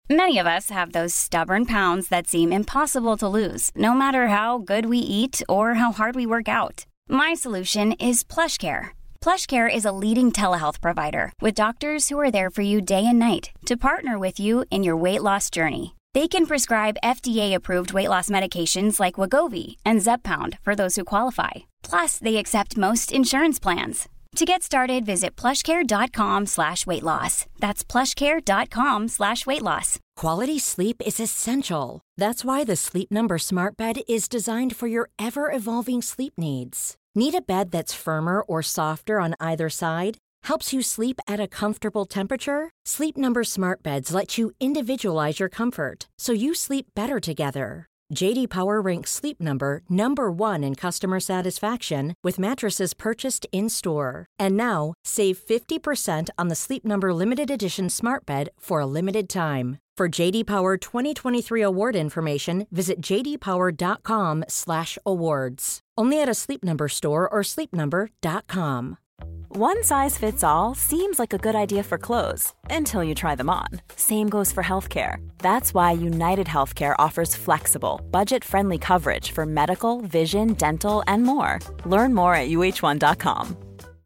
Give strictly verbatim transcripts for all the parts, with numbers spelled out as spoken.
Many of us have those stubborn pounds that seem impossible to lose, no matter how good we eat or how hard we work out. My solution is PlushCare. PlushCare is a leading telehealth provider with doctors who are there for you day and night to partner with you in your weight loss journey. They can prescribe F D A-approved weight loss medications like Wegovy and Zepbound for those who qualify. Plus, they accept most insurance plans. To get started, visit plushcare.com slash weight loss. That's plushcare.com slash weight loss. Quality sleep is essential. That's why the Sleep Number Smart Bed is designed for your ever-evolving sleep needs. Need a bed that's firmer or softer on either side? Helps you sleep at a comfortable temperature? Sleep Number Smart Beds let you individualize your comfort, so you sleep better together. J D Power ranks Sleep Number number one in customer satisfaction with mattresses purchased in-store. And now, save fifty percent on the Sleep Number Limited Edition Smart Bed for a limited time. For J D Power twenty twenty-three award information, visit j d power dot com slash awards. Only at a Sleep Number store or sleep number dot com. One size fits all seems like a good idea for clothes until you try them on. Same goes for healthcare. That's why United Healthcare offers flexible, budget-friendly coverage for medical, vision, dental, and more. Learn more at u h one dot com.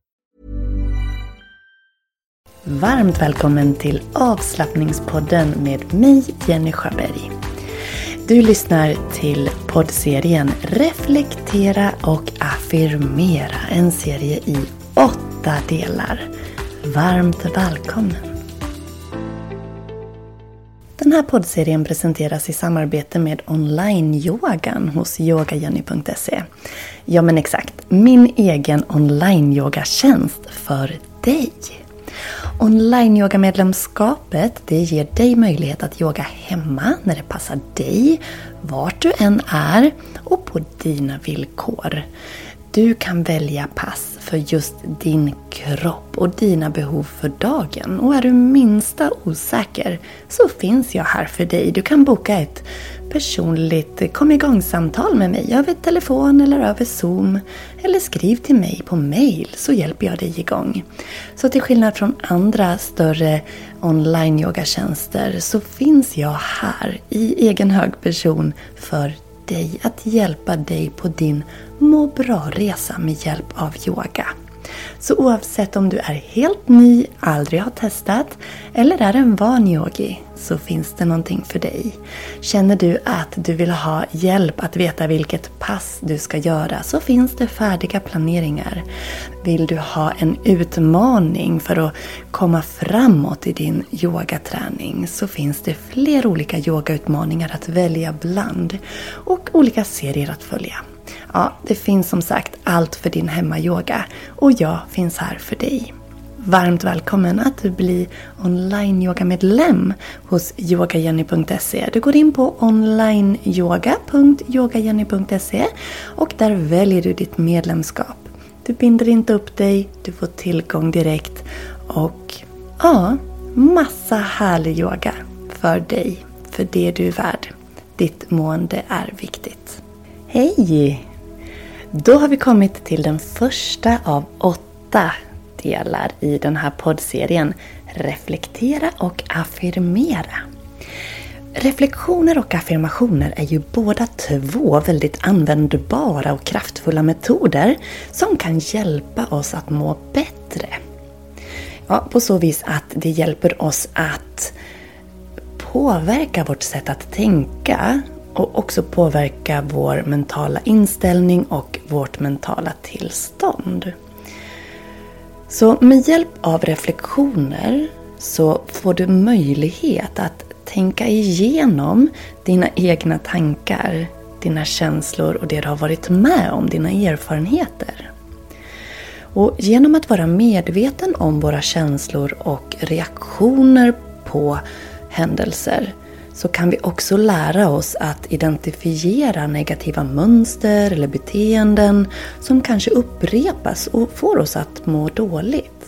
Varmt välkommen till avslappningspodden med mig, Jenny Sjöberg. Du lyssnar till poddserien Reflektera och affirmera, en serie i åtta delar. Varmt välkommen! Den här poddserien presenteras i samarbete med online-yogan hos yoga jenny punkt se. Ja men exakt, min egen online-yogatjänst för dig. Online-yoga-medlemskapet, det ger dig möjlighet att yoga hemma när det passar dig, vart du än är och på dina villkor. Du kan välja pass för just din kropp och dina behov för dagen. Och är du minsta osäker så finns jag här för dig. Du kan boka ett personligt kom igång-samtal med mig över telefon eller över Zoom. Eller skriv till mig på mail så hjälper jag dig igång. Så till skillnad från andra större online-yogatjänster så finns jag här i egen hög person för dig att hjälpa dig på din må bra-resa med hjälp av yoga. Så oavsett om du är helt ny, aldrig har testat eller är en van yogi så finns det någonting för dig. Känner du att du vill ha hjälp att veta vilket pass du ska göra så finns det färdiga planeringar. Vill du ha en utmaning för att komma framåt i din yogaträning så finns det fler olika yogautmaningar att välja bland och olika serier att följa. Ja, det finns som sagt allt för din hemmayoga och jag finns här för dig. Varmt välkommen att du blir online-yoga-medlem hos yoga jenny punkt se. Du går in på onlineyoga punkt yoga jenny punkt se och där väljer du ditt medlemskap. Du binder inte upp dig, du får tillgång direkt och ja, massa härlig yoga för dig, för det du är värd. Ditt mående är viktigt. Hej! Då har vi kommit till den första av åtta delar i den här poddserien Reflektera och affirmera. Reflektioner och affirmationer är ju båda två väldigt användbara och kraftfulla metoder som kan hjälpa oss att må bättre. Ja, på så vis att det hjälper oss att påverka vårt sätt att tänka och också påverka vår mentala inställning och vårt mentala tillstånd. Så med hjälp av reflektioner så får du möjlighet att tänka igenom dina egna tankar, dina känslor och det du har varit med om, dina erfarenheter. Och genom att vara medveten om våra känslor och reaktioner på händelser så kan vi också lära oss att identifiera negativa mönster eller beteenden som kanske upprepas och får oss att må dåligt.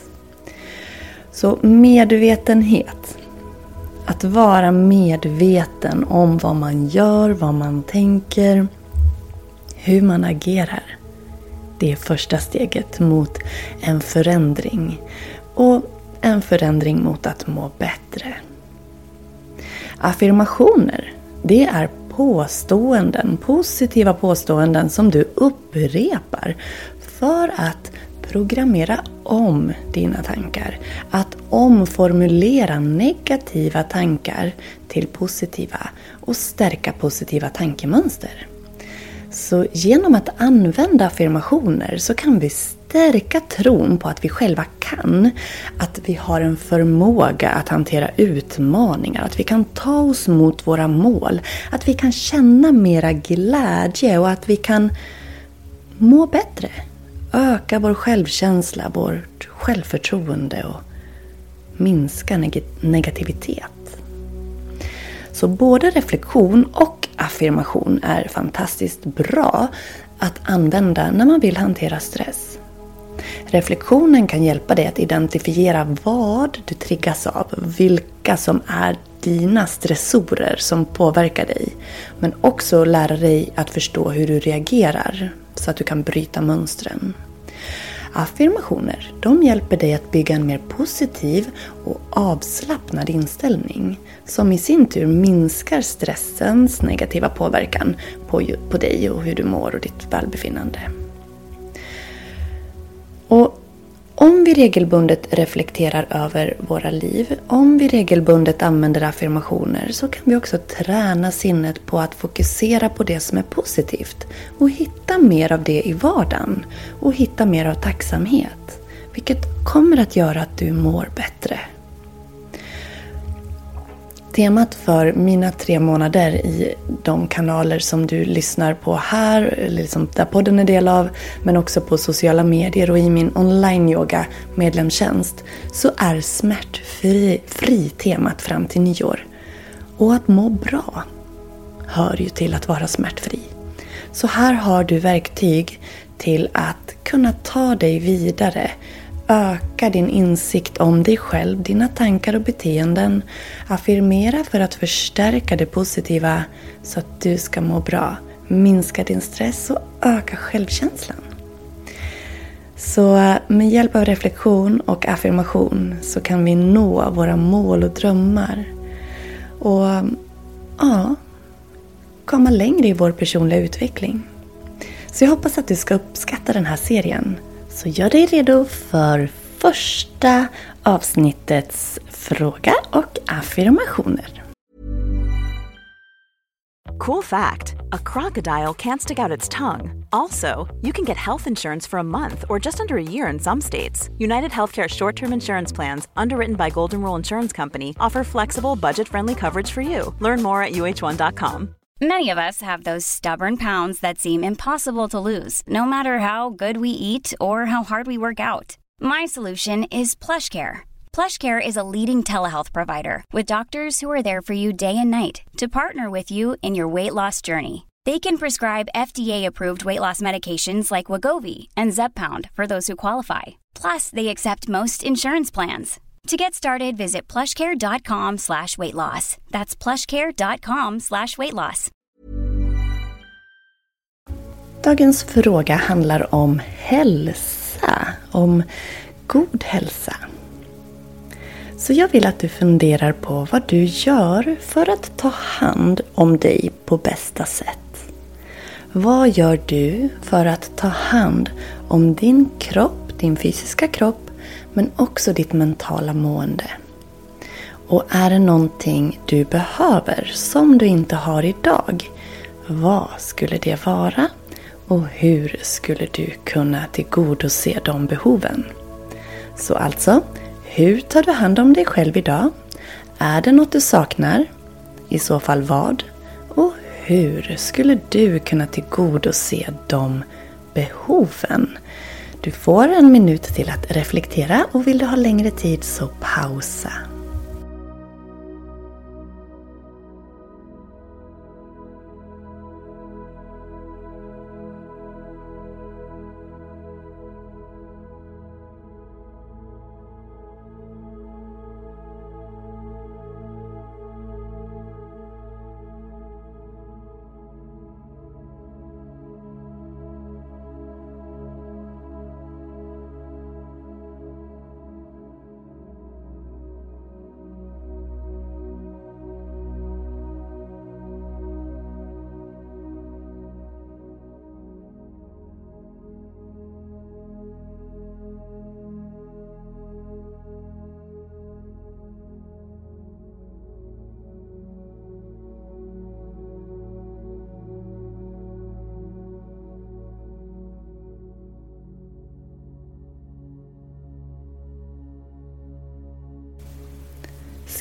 Så medvetenhet. Att vara medveten om vad man gör, vad man tänker, hur man agerar. Det är första steget mot en förändring och en förändring mot att må bättre. Affirmationer, det är påståenden, positiva påståenden som du upprepar för att programmera om dina tankar. Att omformulera negativa tankar till positiva och stärka positiva tankemönster. Så genom att använda affirmationer så kan vi stärka tron på att vi själva kan. Att vi har en förmåga att hantera utmaningar. Att vi kan ta oss mot våra mål. Att vi kan känna mera glädje och att vi kan må bättre. Öka vår självkänsla, vårt självförtroende och minska neg- negativitet. Så både reflektion och affirmation är fantastiskt bra att använda när man vill hantera stress. Reflektionen kan hjälpa dig att identifiera vad du triggas av, vilka som är dina stressorer som påverkar dig. Men också lära dig att förstå hur du reagerar så att du kan bryta mönstren. Affirmationer, de hjälper dig att bygga en mer positiv och avslappnad inställning som i sin tur minskar stressens negativa påverkan på, på dig och hur du mår och ditt välbefinnande. Och om vi regelbundet reflekterar över våra liv, om vi regelbundet använder affirmationer så kan vi också träna sinnet på att fokusera på det som är positivt och hitta mer av det i vardagen och hitta mer av tacksamhet, vilket kommer att göra att du mår bättre. Temat för mina tre månader i de kanaler som du lyssnar på här, eller liksom där podden är del av, men också på sociala medier och i min online-yoga medlemstjänst, så är smärtfri fri temat fram till nyår. Och att må bra hör ju till att vara smärtfri. Så här har du verktyg till att kunna ta dig vidare. Öka din insikt om dig själv, dina tankar och beteenden. Affirmera för att förstärka det positiva så att du ska må bra. Minska din stress och öka självkänslan. Så med hjälp av reflektion och affirmation så kan vi nå våra mål och drömmar. Och ja, komma längre i vår personliga utveckling. Så jag hoppas att du ska uppskatta den här serien. Så gör dig redo för första avsnittets fråga och affirmationer. Cool fact, a crocodile can't stick out its tongue. Also, you can get health insurance for a month or just under a year in some states. United Healthcare short-term insurance plans, underwritten by Golden Rule Insurance Company, offer flexible, budget-friendly coverage for you. Learn more at U H one dot com. Many of us have those stubborn pounds that seem impossible to lose, no matter how good we eat or how hard we work out. My solution is PlushCare. PlushCare is a leading telehealth provider with doctors who are there for you day and night to partner with you in your weight loss journey. They can prescribe F D A-approved weight loss medications like Wegovy and Zepbound for those who qualify. Plus, they accept most insurance plans. To get started, visit plushcare.com slash weight loss. That's plushcare.com slash weight loss. Dagens fråga handlar om hälsa, om god hälsa. Så jag vill att du funderar på vad du gör för att ta hand om dig på bästa sätt. Vad gör du för att ta hand om din kropp, din fysiska kropp, men också ditt mentala mående? Och är det någonting du behöver som du inte har idag? Vad skulle det vara? Och hur skulle du kunna tillgodose de behoven? Så alltså, hur tar du hand om dig själv idag? Är det något du saknar? I så fall vad? Och hur skulle du kunna tillgodose de behoven? Du får en minut till att reflektera och vill du ha längre tid så pausa.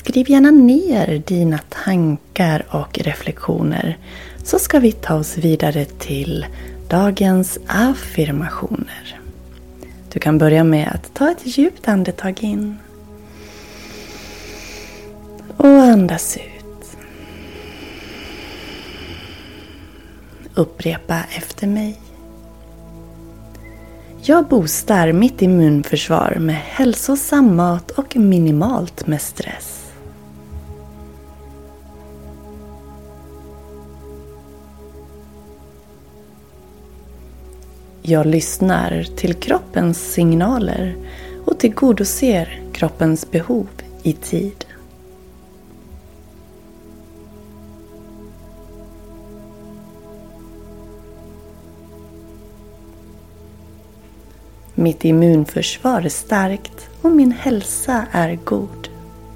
skriv gärna ner dina tankar och reflektioner, så ska vi ta oss vidare till dagens affirmationer. Du kan börja med att ta ett djupt andetag in och andas ut. Upprepa efter mig. Jag boostar mitt immunförsvar med hälsosam mat och minimalt med stress. Jag lyssnar till kroppens signaler och tillgodoser kroppens behov i tid. Mitt immunförsvar är starkt och min hälsa är god.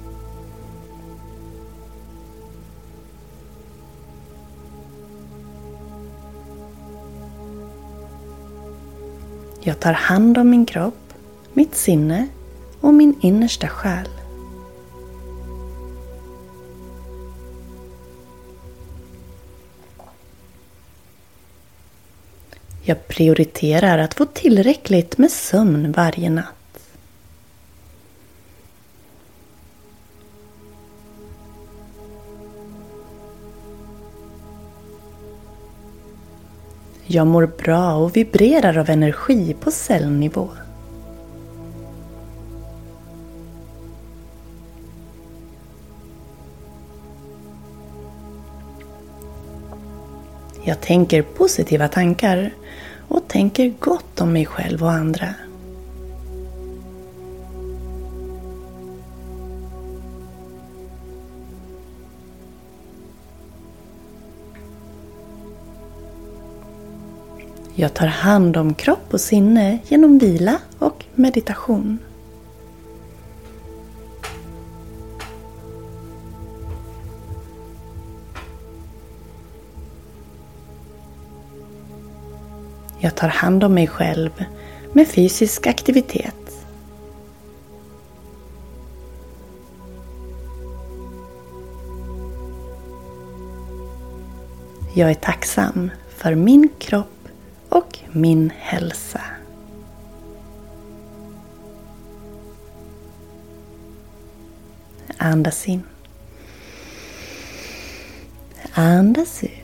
Jag tar hand om min kropp, mitt sinne och min innersta själ. Jag prioriterar att få tillräckligt med sömn varje natt. Jag mår bra och vibrerar av energi på cellnivå. Jag tänker positiva tankar och tänker gott om mig själv och andra. Jag tar hand om kropp och sinne genom vila och meditation. Jag tar hand om mig själv med fysisk aktivitet. Jag är tacksam för min kropp och min hälsa. Andas in. Andas ut.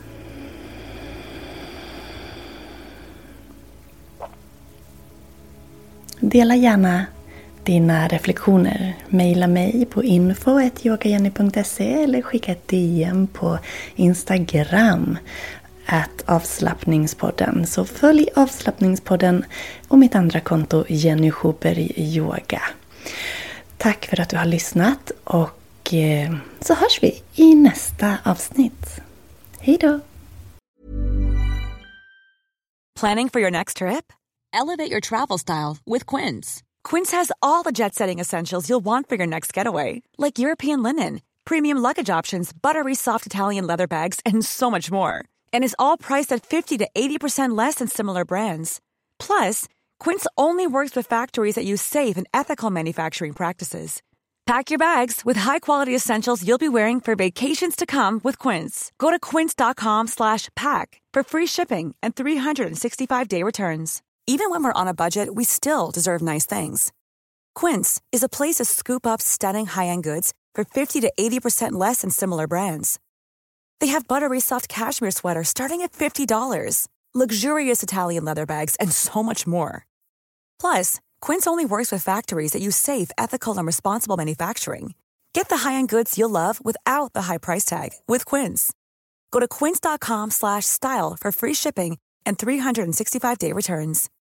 Dela gärna dina reflektioner. Maila mig på info at yogajenny punkt se eller skicka ett D M på Instagram at avslappningspodden. Så följ avslappningspodden och mitt andra konto Jenny Schuberg Yoga. Tack för att du har lyssnat och så hörs vi i nästa avsnitt. Hej då! Planning for your next trip? Elevate your travel style with Quince. Quince has all the jet-setting essentials you'll want for your next getaway, like European linen, premium luggage options, buttery soft Italian leather bags, and so much more. And is all priced at fifty to eighty percent less than similar brands. Plus, Quince only works with factories that use safe and ethical manufacturing practices. Pack your bags with high-quality essentials you'll be wearing for vacations to come with Quince. Go to quince.com slash pack for free shipping and three sixty-five day returns. Even when we're on a budget, we still deserve nice things. Quince is a place to scoop up stunning high-end goods for fifty to eighty percent less than similar brands. They have buttery soft cashmere sweaters starting at fifty dollars, luxurious Italian leather bags, and so much more. Plus, Quince only works with factories that use safe, ethical, and responsible manufacturing. Get the high-end goods you'll love without the high price tag with Quince. Go to quince.com slash style for free shipping and three sixty-five day returns.